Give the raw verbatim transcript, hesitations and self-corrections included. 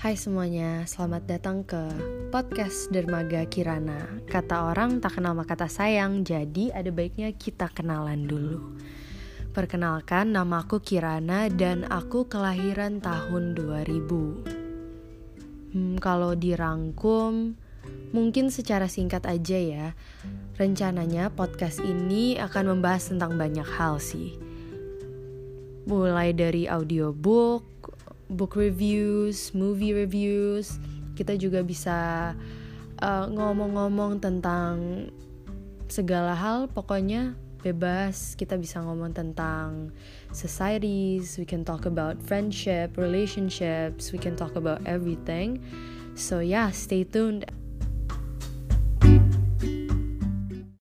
Hai semuanya, selamat datang ke podcast Dermaga Kirana. Kata orang tak kenal maka tak sayang, jadi ada baiknya kita kenalan dulu. Perkenalkan, nama aku Kirana dan aku kelahiran tahun dua ribu. Hmm, kalau dirangkum, mungkin secara singkat aja ya. Rencananya podcast ini akan membahas tentang banyak hal sih. Mulai dari audiobook, book reviews, movie reviews. Kita juga bisa uh, ngomong-ngomong tentang segala hal, pokoknya bebas. Kita bisa ngomong tentang societies, we can talk about friendship, relationships, we can talk about everything. So yeah, stay tuned.